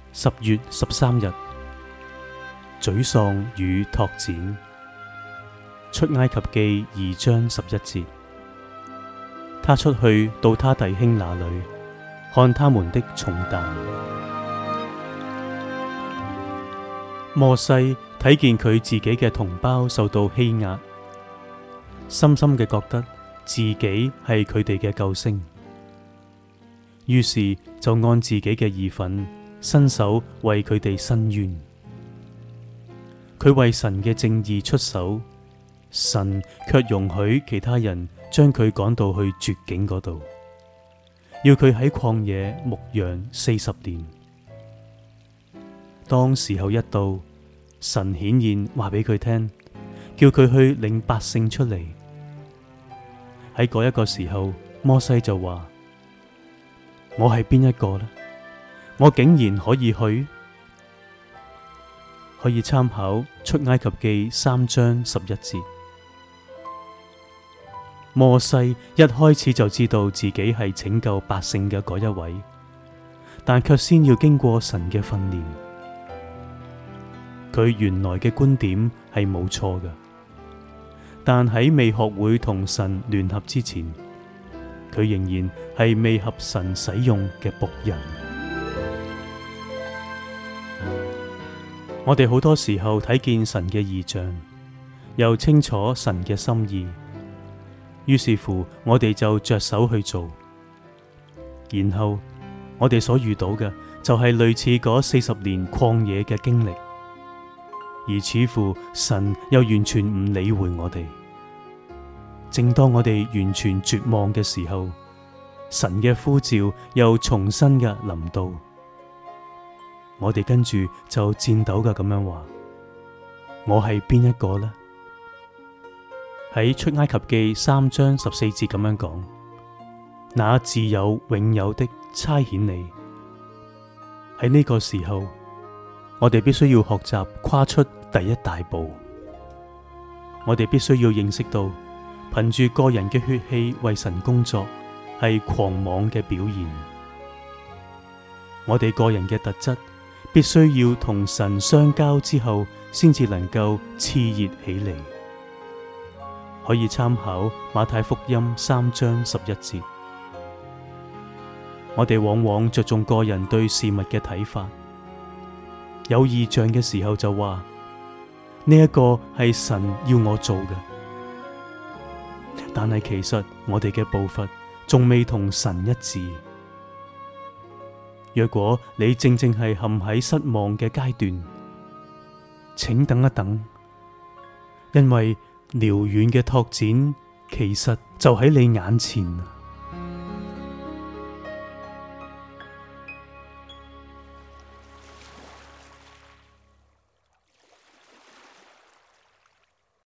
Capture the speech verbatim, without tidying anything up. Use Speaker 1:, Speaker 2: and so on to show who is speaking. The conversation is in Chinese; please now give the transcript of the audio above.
Speaker 1: 十月十三日，沮喪與拓展。出埃及記二章十一節，他出去到他弟兄那裏，看他們的重擔。摩西睇見佢自己嘅同胞受到欺壓，深深嘅覺得自己係佢哋嘅救星，於是就按自己嘅義憤伸手為佢哋伸冤。佢為神嘅正義出手，神卻容許其他人將佢趕到去絕境嗰度，要佢喺曠野牧羊四十年。當時候一到，神顯現話俾佢聽，叫佢去領百姓出嚟。喺嗰一個時候，摩西就話：我係邊一個呢？我竟然可以去？可以參考出埃及記三章十一節。摩西一開始就知道自己係拯救百姓嘅嗰一位，但卻先要經過神嘅訓練。佢原來嘅觀點係冇錯嘅，但喺未學會同神聯合之前，佢仍然係未合神使用嘅僕人。我哋好多時候睇見神嘅異象，又清楚神嘅心意，於是乎我哋就着手去做，然後我哋所遇到嘅就係類似嗰四十年曠野嘅經歷，而似乎神又完全唔理會我哋。正當我哋完全絕望嘅時候，神嘅呼召又重新嘅臨到，我哋跟住就顫抖嘅咁樣話：我係邊一個呢？喺出埃及記三章十四節咁樣講：那自有永有的差遣你。喺呢個時候，我哋必須要學習跨出第一大步。我哋必須要認識到，憑住個人嘅血氣為神工作係狂妄嘅表現。我哋個人嘅特質必須要同神相交之後，先至能夠熾熱起嚟。可以參考馬太福音三章十一節。我哋往往着重個人對事物嘅睇法，有異象嘅時候就話呢一個係神要我做嘅，但係其實我哋嘅步伐仲未同神一致。若果你正正係陷喺失望嘅階段，請等一等，因為遼遠嘅拓展其實就喺你眼前。